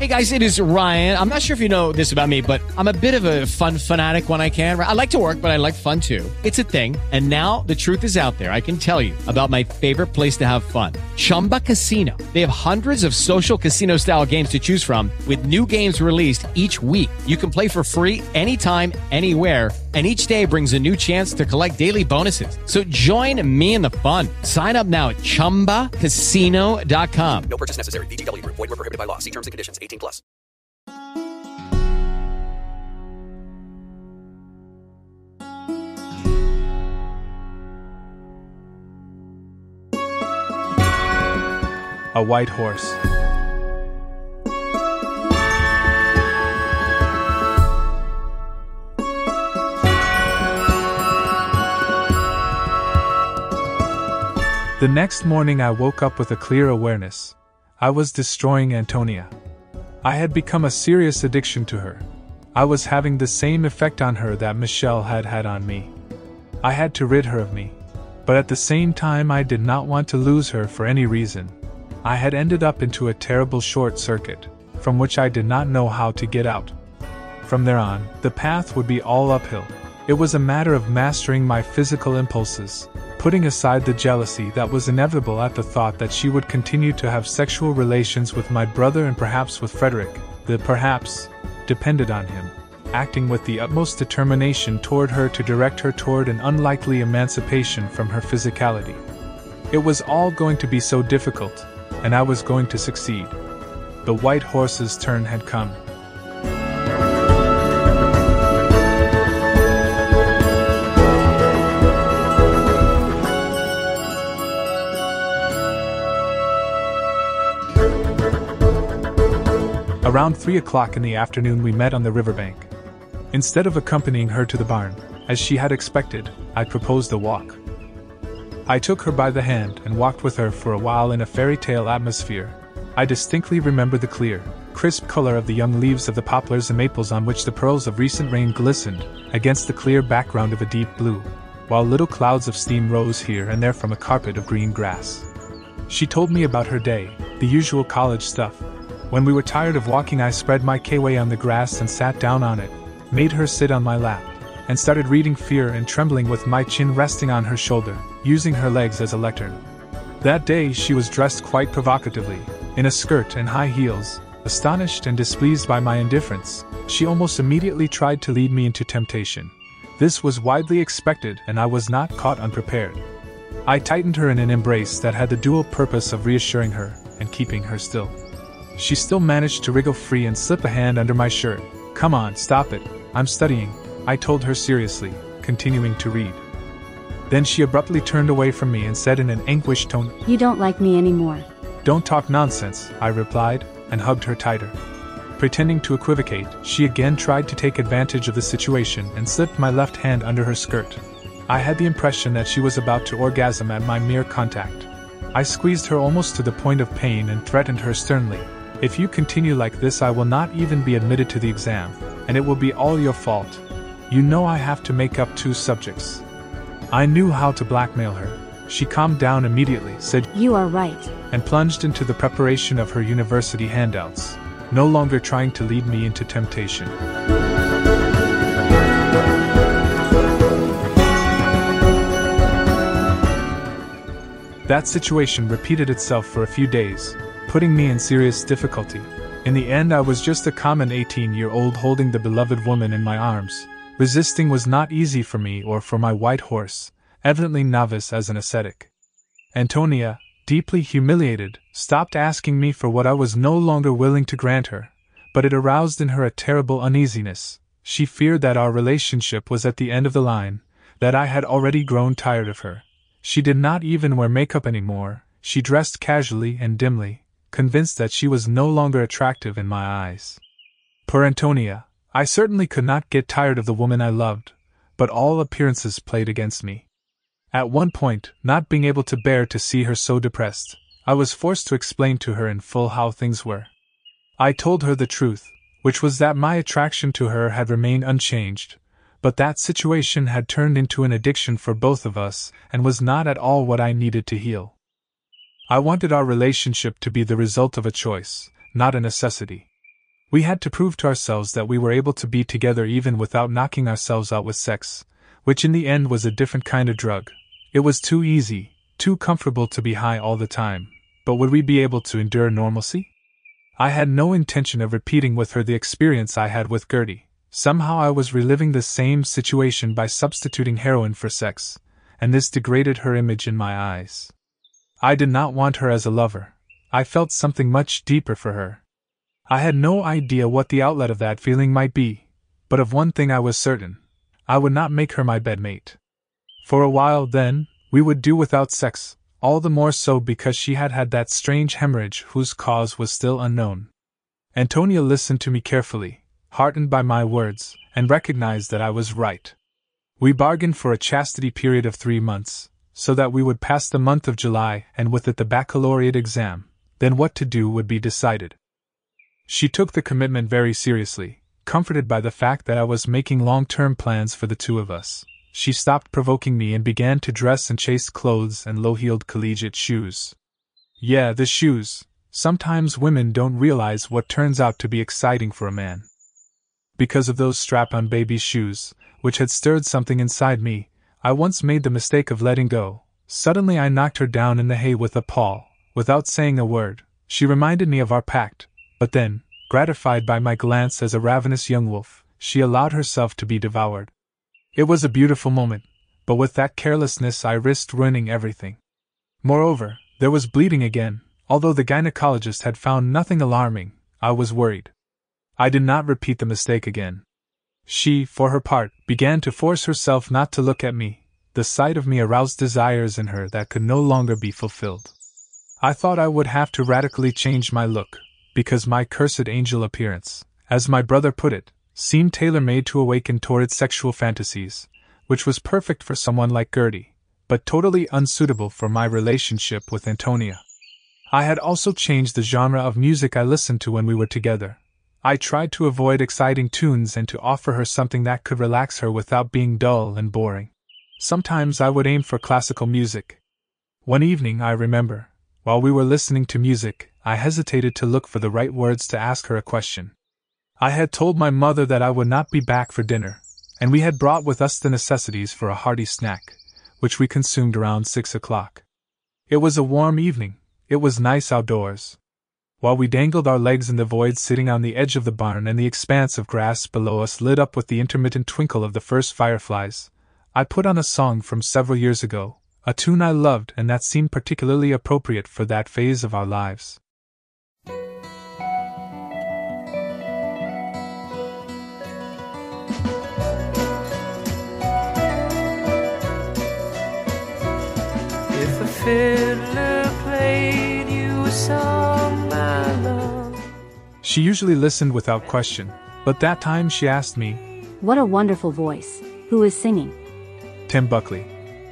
Hey guys, it is Ryan. I'm not sure if you know this about me, but I'm a bit of a fun fanatic when I can. I like to work, but I like fun too. It's a thing. And now the truth is out there. I can tell you about my favorite place to have fun. Chumba Casino. They have hundreds of social casino style games to choose from with new games released each week. You can play for free anytime, anywhere. And each day brings a new chance to collect daily bonuses. So join me in the fun. Sign up now at ChumbaCasino.com. No purchase necessary. VGW Group. Void where prohibited by law. See terms and conditions. 18 plus. A white horse. The next morning I woke up with a clear awareness. I was destroying Antonia. I had become a serious addiction to her. I was having the same effect on her that Michelle had had on me. I had to rid her of me. But at the same time I did not want to lose her for any reason. I had ended up into a terrible short circuit, from which I did not know how to get out. From there on, the path would be all uphill. It was a matter of mastering my physical impulses, putting aside the jealousy that was inevitable at the thought that she would continue to have sexual relations with my brother and perhaps with Frederick. The perhaps depended on him, acting with the utmost determination toward her to direct her toward an unlikely emancipation from her physicality. It was all going to be so difficult, and I was going to succeed. The white horse's turn had come. Around 3 o'clock in the afternoon we met on the riverbank. Instead of accompanying her to the barn, as she had expected, I proposed a walk. I took her by the hand and walked with her for a while in a fairy tale atmosphere. I distinctly remember the clear, crisp color of the young leaves of the poplars and maples on which the pearls of recent rain glistened against the clear background of a deep blue, while little clouds of steam rose here and there from a carpet of green grass. She told me about her day, the usual college stuff. When we were tired of walking I spread my K-way on the grass and sat down on it, made her sit on my lap, and started reading Fear and Trembling with my chin resting on her shoulder, using her legs as a lectern. That day she was dressed quite provocatively, in a skirt and high heels. Astonished and displeased by my indifference, she almost immediately tried to lead me into temptation. This was widely expected and I was not caught unprepared. I tightened her in an embrace that had the dual purpose of reassuring her and keeping her still. She still managed to wriggle free and slip a hand under my shirt. "Come on, stop it. I'm studying," I told her seriously, continuing to read. Then she abruptly turned away from me and said in an anguished tone, "You don't like me anymore." "Don't talk nonsense," I replied, and hugged her tighter. Pretending to equivocate, she again tried to take advantage of the situation and slipped my left hand under her skirt. I had the impression that she was about to orgasm at my mere contact. I squeezed her almost to the point of pain and threatened her sternly. "If you continue like this I will not even be admitted to the exam, and it will be all your fault. You know I have to make up 2 subjects." I knew how to blackmail her. She calmed down immediately, said, "You are right," and plunged into the preparation of her university handouts, no longer trying to lead me into temptation. That situation repeated itself for a few days, putting me in serious difficulty. In the end I was just a common 18-year-old holding the beloved woman in my arms. Resisting was not easy for me or for my white horse, evidently novice as an ascetic. Antonia, deeply humiliated, stopped asking me for what I was no longer willing to grant her, but it aroused in her a terrible uneasiness. She feared that our relationship was at the end of the line, that I had already grown tired of her. She did not even wear makeup anymore. She dressed casually and dimly, convinced that she was no longer attractive in my eyes. Poor Antonia, I certainly could not get tired of the woman I loved, but all appearances played against me. At one point, not being able to bear to see her so depressed, I was forced to explain to her in full how things were. I told her the truth, which was that my attraction to her had remained unchanged, but that situation had turned into an addiction for both of us and was not at all what I needed to heal. I wanted our relationship to be the result of a choice, not a necessity. We had to prove to ourselves that we were able to be together even without knocking ourselves out with sex, which in the end was a different kind of drug. It was too easy, too comfortable to be high all the time, but would we be able to endure normalcy? I had no intention of repeating with her the experience I had with Gertie. Somehow I was reliving the same situation by substituting heroin for sex, and this degraded her image in my eyes. I did not want her as a lover. I felt something much deeper for her. I had no idea what the outlet of that feeling might be, but of one thing I was certain. I would not make her my bedmate. For a while, then, we would do without sex, all the more so because she had had that strange hemorrhage whose cause was still unknown. Antonia listened to me carefully, heartened by my words, and recognized that I was right. We bargained for a chastity period of 3 months, so that we would pass the month of July and with it the baccalaureate exam. Then what to do would be decided. She took the commitment very seriously, comforted by the fact that I was making long-term plans for the two of us. She stopped provoking me and began to dress in chaste clothes and low-heeled collegiate shoes. Yeah, the shoes. Sometimes women don't realize what turns out to be exciting for a man. Because of those strap-on baby shoes, which had stirred something inside me, I once made the mistake of letting go. Suddenly I knocked her down in the hay with a paw. Without saying a word, she reminded me of our pact, but then, gratified by my glance as a ravenous young wolf, she allowed herself to be devoured. It was a beautiful moment, but with that carelessness I risked ruining everything. Moreover, there was bleeding again. Although the gynecologist had found nothing alarming, I was worried. I did not repeat the mistake again. She, for her part, began to force herself not to look at me. The sight of me aroused desires in her that could no longer be fulfilled. I thought I would have to radically change my look, because my cursed angel appearance, as my brother put it, seemed tailor-made to awaken torrid sexual fantasies, which was perfect for someone like Gertie, but totally unsuitable for my relationship with Antonia. I had also changed the genre of music I listened to when we were together. I tried to avoid exciting tunes and to offer her something that could relax her without being dull and boring. Sometimes I would aim for classical music. One evening, I remember, while we were listening to music, I hesitated to look for the right words to ask her a question. I had told my mother that I would not be back for dinner, and we had brought with us the necessities for a hearty snack, which we consumed around 6 o'clock. It was a warm evening. It was nice outdoors. While we dangled our legs in the void sitting on the edge of the barn and the expanse of grass below us lit up with the intermittent twinkle of the first fireflies, I put on a song from several years ago, a tune I loved and that seemed particularly appropriate for that phase of our lives. If a fiddler played you a song, my love. She usually listened without question, but that time she asked me, What a wonderful voice. Who is singing? Tim Buckley.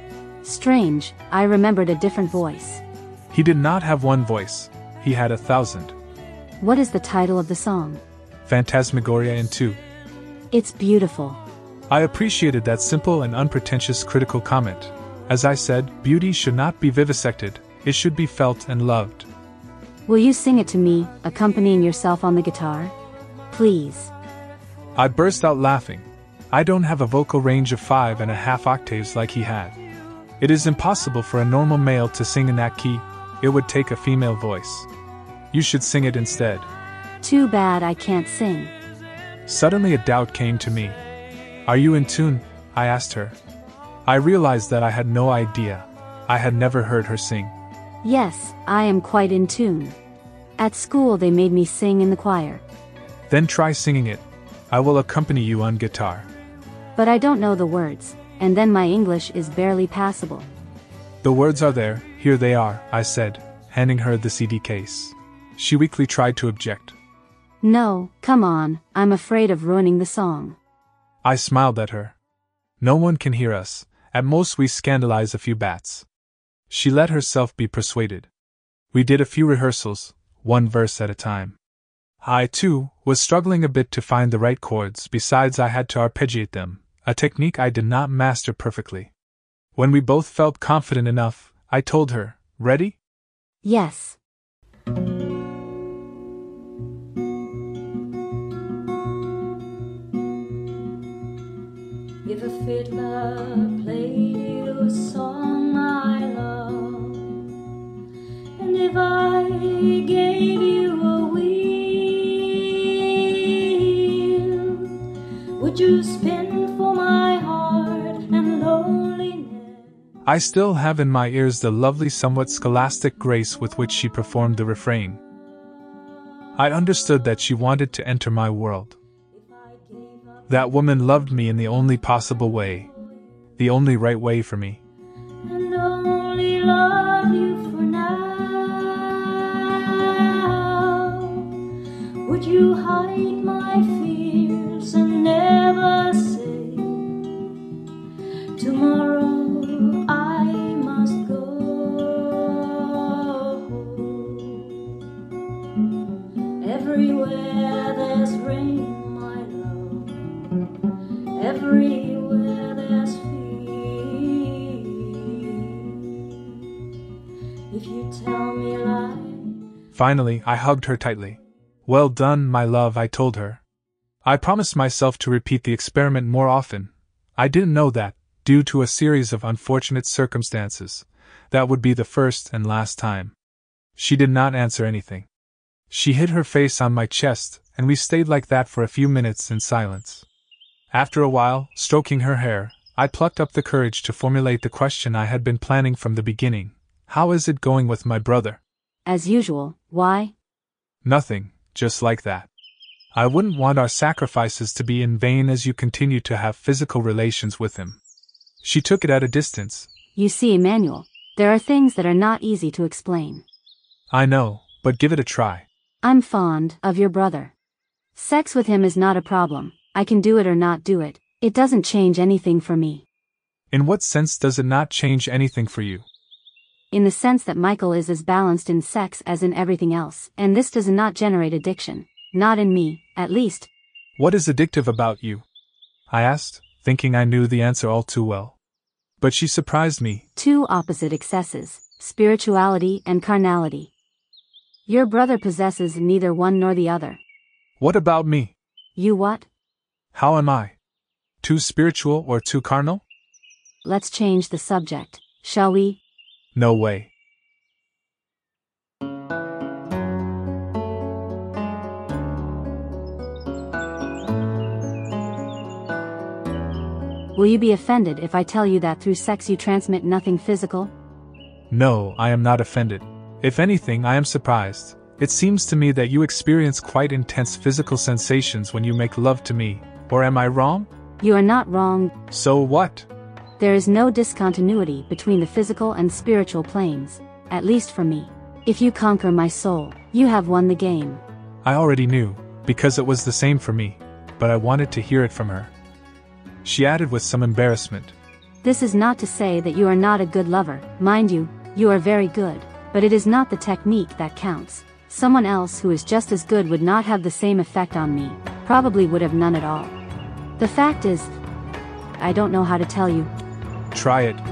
Strange, I remembered a different voice. He did not have one voice, he had 1,000. What is the title of the song? Phantasmagoria in 2. It's beautiful. I appreciated that simple and unpretentious critical comment. As I said, beauty should not be vivisected, it should be felt and loved. Will you sing it to me, accompanying yourself on the guitar? Please. I burst out laughing. I don't have a vocal range of 5.5 octaves like he had. It is impossible for a normal male to sing in that key. It would take a female voice. You should sing it instead. Too bad I can't sing. Suddenly a doubt came to me. Are you in tune? I asked her. I realized that I had no idea. I had never heard her sing. Yes, I am quite in tune. At school they made me sing in the choir. Then try singing it. I will accompany you on guitar. But I don't know the words, and then my English is barely passable. The words are there, here they are, I said, handing her the CD case. She weakly tried to object. No, come on, I'm afraid of ruining the song. I smiled at her. No one can hear us, at most we scandalize a few bats. She let herself be persuaded. We did a few rehearsals, one verse at a time. I, too, was struggling a bit to find the right chords, besides I had to arpeggiate them, a technique I did not master perfectly. When we both felt confident enough, I told her, Ready? Yes. fiddler played you a song I love, and if I gave you a wheel, would you spin for my heart and loneliness? I still have in my ears the lovely, somewhat scholastic grace with which she performed the refrain. I understood that she wanted to enter my world. That woman loved me in the only possible way, the only right way for me. And only love you for now. Would you hide my fears and never say, tomorrow I must go? Everywhere there's rain, my love. Everywhere there's fear. If you tell me lies. Finally, I hugged her tightly. Well done, my love, I told her. I promised myself to repeat the experiment more often. I didn't know that, due to a series of unfortunate circumstances, that would be the first and last time. She did not answer anything. She hid her face on my chest, and we stayed like that for a few minutes in silence. After a while, stroking her hair, I plucked up the courage to formulate the question I had been planning from the beginning. How is it going with my brother? As usual. Why? Nothing, just like that. I wouldn't want our sacrifices to be in vain as you continue to have physical relations with him. She took it at a distance. You see, Emmanuel, there are things that are not easy to explain. I know, but give it a try. I'm fond of your brother. Sex with him is not a problem. I can do it or not do it. It doesn't change anything for me. In what sense does it not change anything for you? In the sense that Michael is as balanced in sex as in everything else, and this does not generate addiction. Not in me, at least. What is addictive about you? I asked, thinking I knew the answer all too well. But she surprised me. Two opposite excesses, spirituality and carnality. Your brother possesses neither one nor the other. What about me? You what? How am I? Too spiritual or too carnal? Let's change the subject, shall we? No way. Will you be offended if I tell you that through sex you transmit nothing physical? No, I am not offended. If anything, I am surprised. It seems to me that you experience quite intense physical sensations when you make love to me. Or am I wrong? You are not wrong. So what? There is no discontinuity between the physical and spiritual planes, at least for me. If you conquer my soul, you have won the game. I already knew, because it was the same for me, but I wanted to hear it from her. She added with some embarrassment. This is not to say that you are not a good lover. Mind you, you are very good, but it is not the technique that counts. Someone else who is just as good would not have the same effect on me, probably would have none at all. The fact is, I don't know how to tell you. Try it.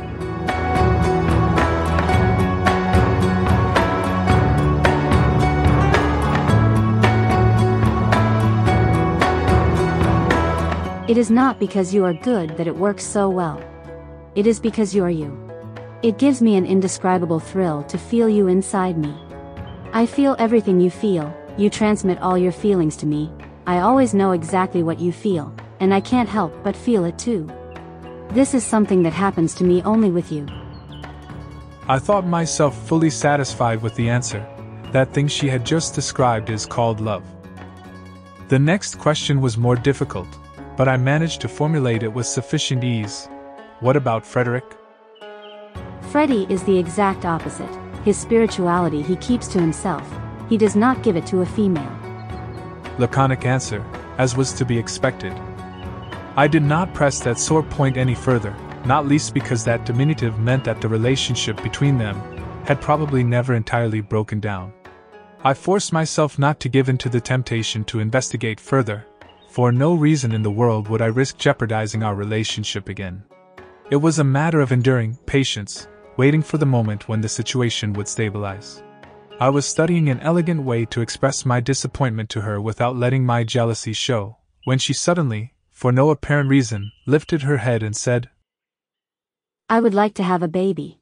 It is not because you are good that it works so well. It is because you are you. It gives me an indescribable thrill to feel you inside me. I feel everything you feel, you transmit all your feelings to me. I always know exactly what you feel, and I can't help but feel it too. This is something that happens to me only with you. I thought myself fully satisfied with the answer. That thing she had just described is called love. The next question was more difficult, but I managed to formulate it with sufficient ease. What about Frederick? Freddie is the exact opposite. His spirituality he keeps to himself. He does not give it to a female. Laconic answer, as was to be expected. I did not press that sore point any further, not least because that diminutive meant that the relationship between them had probably never entirely broken down. I forced myself not to give in to the temptation to investigate further. For no reason in the world would I risk jeopardizing our relationship again. It was a matter of enduring patience, waiting for the moment when the situation would stabilize. I was studying an elegant way to express my disappointment to her without letting my jealousy show, when she suddenly, for no apparent reason, lifted her head and said, I would like to have a baby.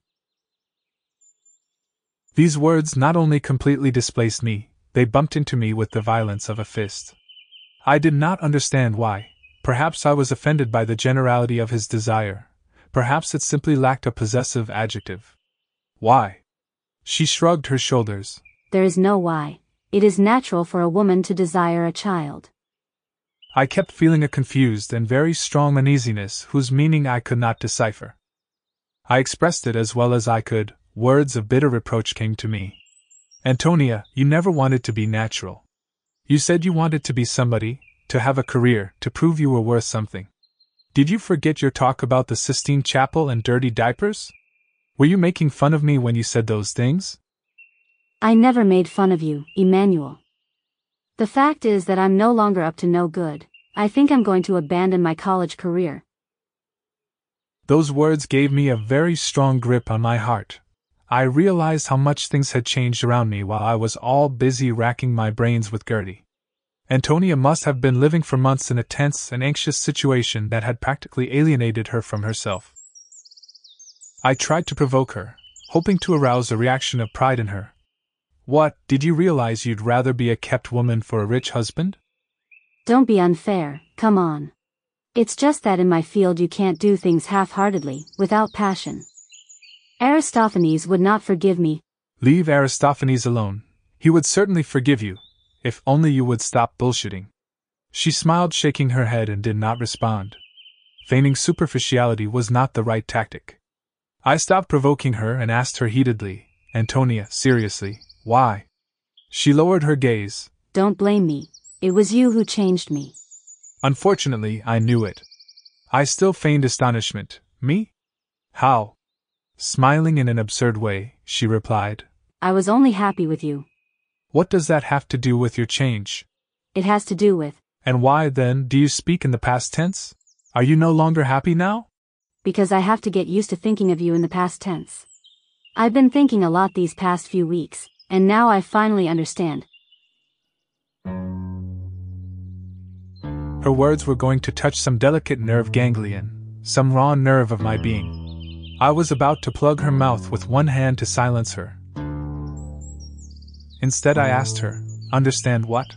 These words not only completely displaced me, they bumped into me with the violence of a fist. I did not understand why. Perhaps I was offended by the generality of his desire. Perhaps it simply lacked a possessive adjective. Why? She shrugged her shoulders. There is no why. It is natural for a woman to desire a child. I kept feeling a confused and very strong uneasiness whose meaning I could not decipher. I expressed it as well as I could. Words of bitter reproach came to me. Antonia, you never wanted to be natural. You said you wanted to be somebody, to have a career, to prove you were worth something. Did you forget your talk about the Sistine Chapel and dirty diapers? Were you making fun of me when you said those things? I never made fun of you, Emmanuel. The fact is that I'm no longer up to no good. I think I'm going to abandon my college career. Those words gave me a very strong grip on my heart. I realized how much things had changed around me while I was all busy racking my brains with Gertie. Antonia must have been living for months in a tense and anxious situation that had practically alienated her from herself. I tried to provoke her, hoping to arouse a reaction of pride in her. What, did you realize you'd rather be a kept woman for a rich husband? Don't be unfair, come on. It's just that in my field you can't do things half-heartedly, without passion. Aristophanes would not forgive me. Leave Aristophanes alone. He would certainly forgive you, if only you would stop bullshitting. She smiled, shaking her head, and did not respond. Feigning superficiality was not the right tactic. I stopped provoking her and asked her heatedly, Antonia, seriously, why? She lowered her gaze. Don't blame me. It was you who changed me. Unfortunately, I knew it. I still feigned astonishment. Me? How? Smiling in an absurd way, she replied, I was only happy with you. What does that have to do with your change? It has to do with. And why, then, do you speak in the past tense? Are you no longer happy now? Because I have to get used to thinking of you in the past tense. I've been thinking a lot these past few weeks, and now I finally understand. Her words were going to touch some delicate nerve ganglion, some raw nerve of my being. I was about to plug her mouth with one hand to silence her. Instead, I asked her, understand what?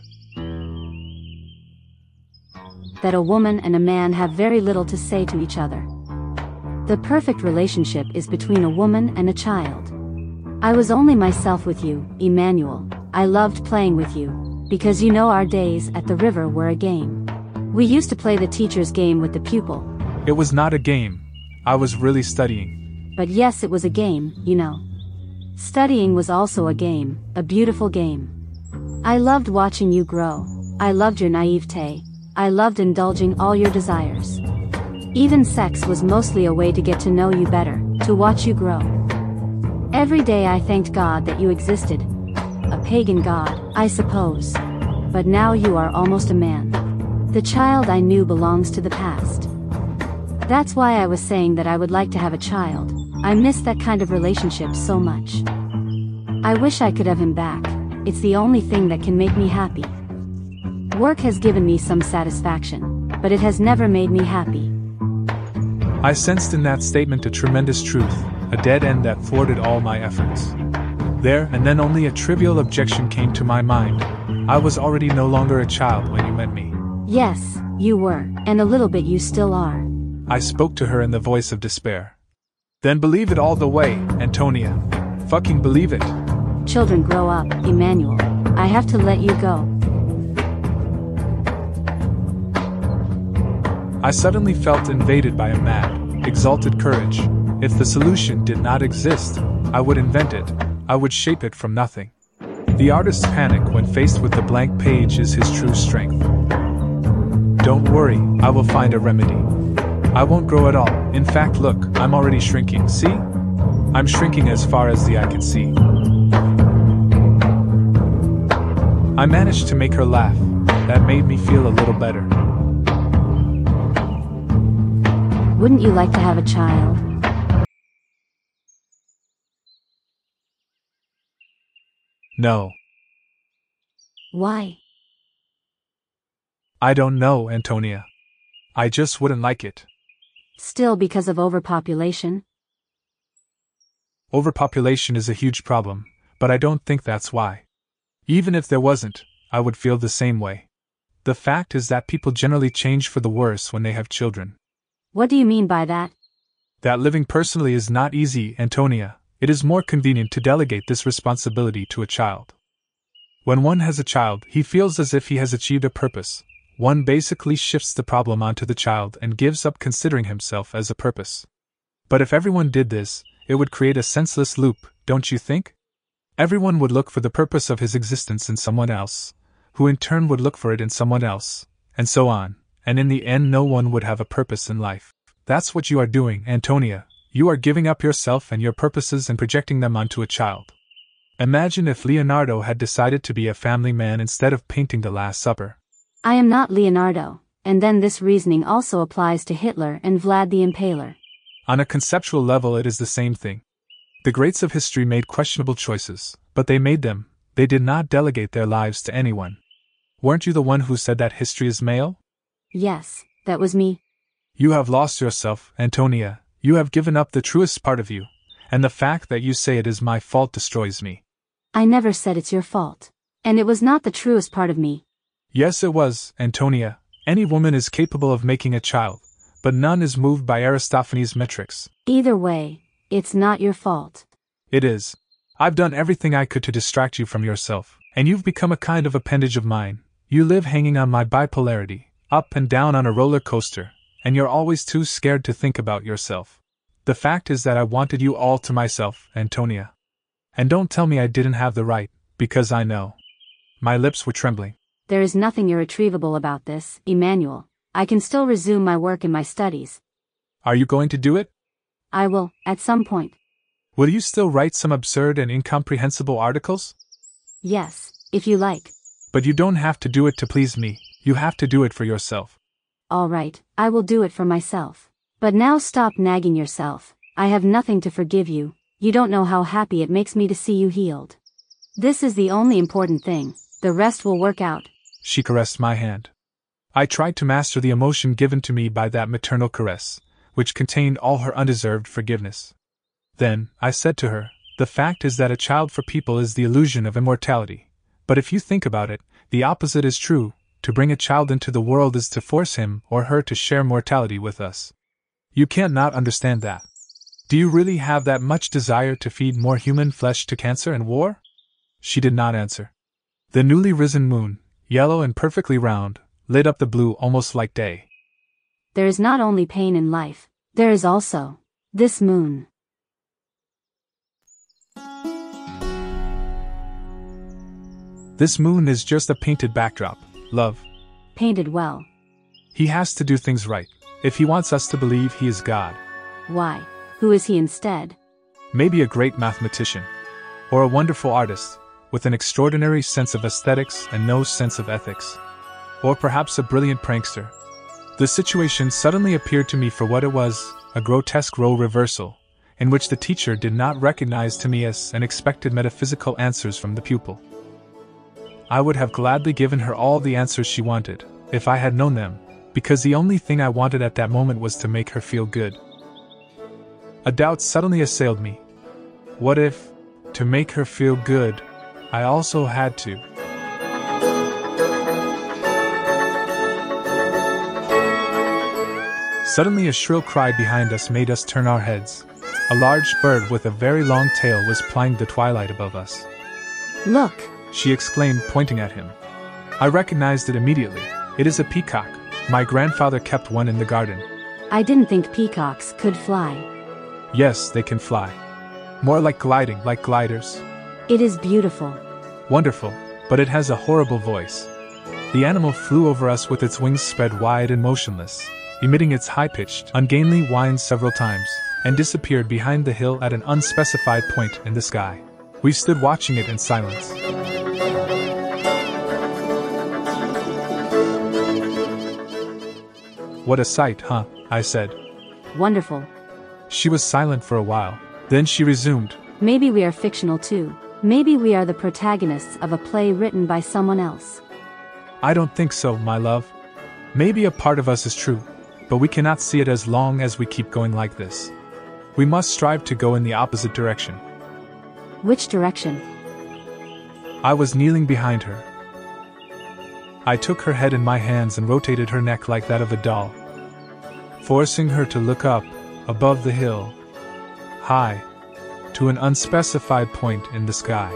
That a woman and a man have very little to say to each other. The perfect relationship is between a woman and a child. I was only myself with you, Emmanuel. I loved playing with you, because you know our days at the river were a game. We used to play the teacher's game with the pupil. It was not a game. I was really studying. But yes, it was a game, you know. Studying was also a game, a beautiful game. I loved watching you grow. I loved your naivete. I loved indulging all your desires. Even sex was mostly a way to get to know you better, to watch you grow. Every day I thanked God that you existed. A pagan god, I suppose. But now you are almost a man. The child I knew belongs to the past. That's why I was saying that I would like to have a child. I miss that kind of relationship so much. I wish I could have him back. It's the only thing that can make me happy. Work has given me some satisfaction, but it has never made me happy. I sensed in that statement a tremendous truth, a dead end that thwarted all my efforts. There and then only a trivial objection came to my mind. I was already no longer a child when you met me. Yes, you were, and a little bit you still are. I spoke to her in the voice of despair. Then believe it all the way, Antonia. Fucking believe it. Children grow up, Emmanuel. I have to let you go. I suddenly felt invaded by a mad, exalted courage. If the solution did not exist, I would invent it. I would shape it from nothing. The artist's panic when faced with the blank page is his true strength. Don't worry, I will find a remedy. I won't grow at all. In fact, look, I'm already shrinking, see? I'm shrinking as far as the eye can see. I managed to make her laugh. That made me feel a little better. Wouldn't you like to have a child? No. Why? I don't know, Antonia. I just wouldn't like it. Still because of overpopulation? Overpopulation is a huge problem, but I don't think that's why. Even if there wasn't, I would feel the same way. The fact is that people generally change for the worse when they have children. What do you mean by that? That living personally is not easy, Antonia. It is more convenient to delegate this responsibility to a child. When one has a child, he feels as if he has achieved a purpose. One basically shifts the problem onto the child and gives up considering himself as a purpose. But if everyone did this, it would create a senseless loop, don't you think? Everyone would look for the purpose of his existence in someone else, who in turn would look for it in someone else, and so on, and in the end no one would have a purpose in life. That's what you are doing, Antonia. You are giving up yourself and your purposes and projecting them onto a child. Imagine if Leonardo had decided to be a family man instead of painting the Last Supper. I am not Leonardo, and then this reasoning also applies to Hitler and Vlad the Impaler. On a conceptual level it is the same thing. The greats of history made questionable choices, but they made them. They did not delegate their lives to anyone. Weren't you the one who said that history is male? Yes, that was me. You have lost yourself, Antonia. You have given up the truest part of you, and the fact that you say it is my fault destroys me. I never said it's your fault. And it was not the truest part of me. Yes, it was, Antonia. Any woman is capable of making a child, but none is moved by Aristophanes' metrics. Either way, it's not your fault. It is. I've done everything I could to distract you from yourself, and you've become a kind of appendage of mine. You live hanging on my bipolarity, up and down on a roller coaster, and you're always too scared to think about yourself. The fact is that I wanted you all to myself, Antonia. And don't tell me I didn't have the right, because I know. My lips were trembling. There is nothing irretrievable about this, Emmanuel. I can still resume my work in my studies. Are you going to do it? I will, at some point. Will you still write some absurd and incomprehensible articles? Yes, if you like. But you don't have to do it to please me. You have to do it for yourself. All right, I will do it for myself. But now stop nagging yourself. I have nothing to forgive you. You don't know how happy it makes me to see you healed. This is the only important thing. The rest will work out. She caressed my hand. I tried to master the emotion given to me by that maternal caress, which contained all her undeserved forgiveness. Then, I said to her, the fact is that a child for people is the illusion of immortality. But if you think about it, the opposite is true. To bring a child into the world is to force him or her to share mortality with us. You can't not understand that. Do you really have that much desire to feed more human flesh to cancer and war? She did not answer. The newly risen moon, yellow and perfectly round, lit up the blue almost like day. There is not only pain in life, there is also this moon. This moon is just a painted backdrop, love. Painted well. He has to do things right, if he wants us to believe he is God. Why? Who is he instead? Maybe a great mathematician. Or a wonderful artist, with an extraordinary sense of aesthetics and no sense of ethics. Or perhaps a brilliant prankster. The situation suddenly appeared to me for what it was, a grotesque role reversal, in which the teacher did not recognize Timaeus and expected metaphysical answers from the pupil. I would have gladly given her all the answers she wanted, if I had known them, because the only thing I wanted at that moment was to make her feel good. A doubt suddenly assailed me. What if, to make her feel good, I also had to? Suddenly a shrill cry behind us made us turn our heads. A large bird with a very long tail was plying the twilight above us. Look! She exclaimed, pointing at him. I recognized it immediately. It is a peacock. My grandfather kept one in the garden. I didn't think peacocks could fly. Yes, they can fly. More like gliding, like gliders. It is beautiful. Wonderful, but it has a horrible voice. The animal flew over us with its wings spread wide and motionless, emitting its high-pitched, ungainly whine several times, and disappeared behind the hill at an unspecified point in the sky. We stood watching it in silence. What a sight, huh? I said. Wonderful. She was silent for a while. Then she resumed. Maybe we are fictional too. Maybe we are the protagonists of a play written by someone else. I don't think so, my love. Maybe a part of us is true, but we cannot see it as long as we keep going like this. We must strive to go in the opposite direction. Which direction? I was kneeling behind her. I took her head in my hands and rotated her neck like that of a doll, forcing her to look up, above the hill, high, to an unspecified point in the sky.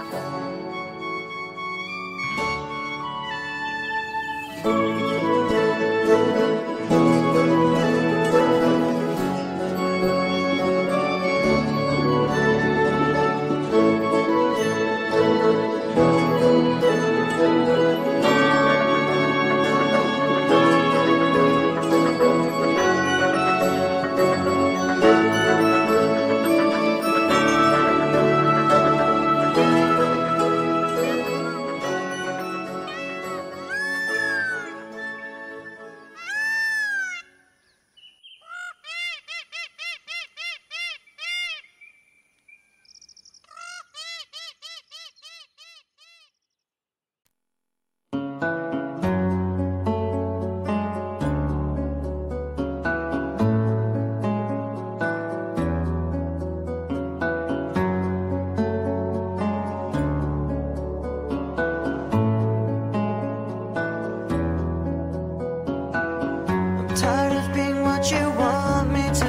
Tired of being what you want me to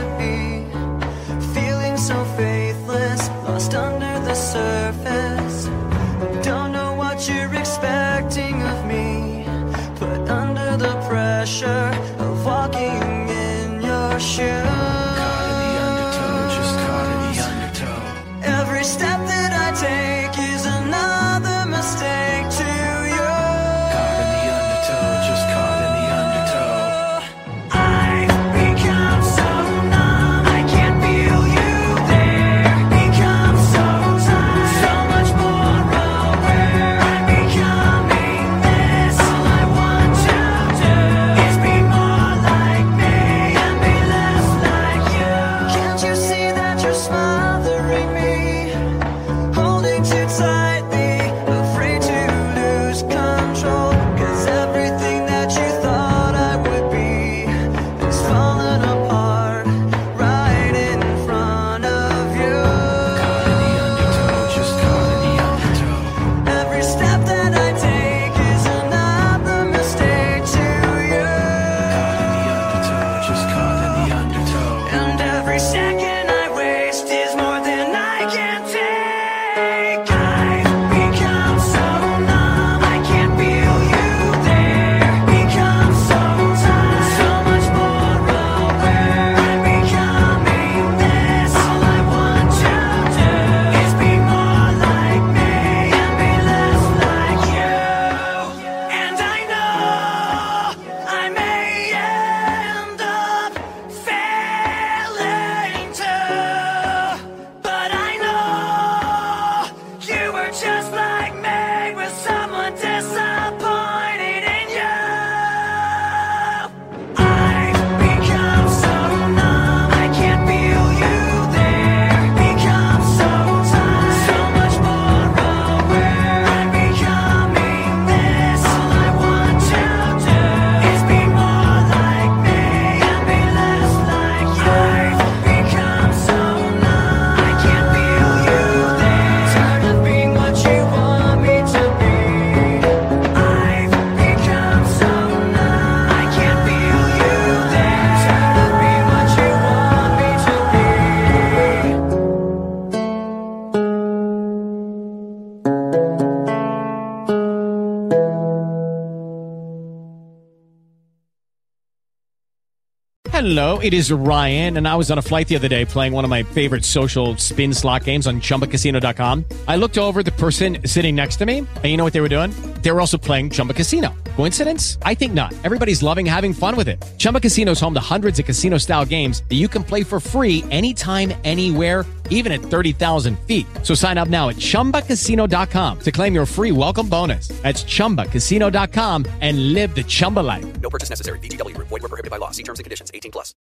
be, feeling so faithless, lost under the surface. Don't know what you're expecting of me, put under the pressure of walking in your shoes. Caught in the undertow, just caught in the undertow. Every step that I take is another mistake to you. Caught in the undertow, just caught in the undertow. I've become so numb, I can't feel you there. Become so tired, so much more aware. I'm becoming this. All I want to do is be more like me and be less like you. Can't you see that you're smothering me? Holding too tightly, afraid to lose control. 'Cause everything that you thought I would be is falling apart right in front of you. Caught in the undertow, just caught in the undertow. Every step that I take is another mistake to you. Caught in the undertow, just caught in the undertow. And every second I waste is more than I can take. I've become so numb, I can't feel you there. Become so tired, so much more aware. I'm becoming this. All I want to do is be more like me and be less like you. And I know I may end up failing too, but I know you were just like me, with someone disappointed in you. I've become so numb, I can't feel you there. Become so tired, so much more aware. I'm becoming this. All I want to do is be more like me and be less like you. I've become so numb, I can't feel you there. Tired of being what you want me to be. I've become so numb, I can't feel you there. Tired of being what you want me to be. Hello, it is Ryan, and I was on a flight the other day playing one of my favorite social spin slot games on ChumbaCasino.com. I looked over at the person sitting next to me, and you know what they were doing? They were also playing Chumba Casino. Coincidence? I think not. Everybody's loving having fun with it. Chumba Casino is home to hundreds of casino-style games that you can play for free anytime, anywhere, even at 30,000 feet. So sign up now at ChumbaCasino.com to claim your free welcome bonus. That's ChumbaCasino.com and live the Chumba life. No purchase necessary. VGW Group. Void were prohibited by law. See terms and conditions. 18+.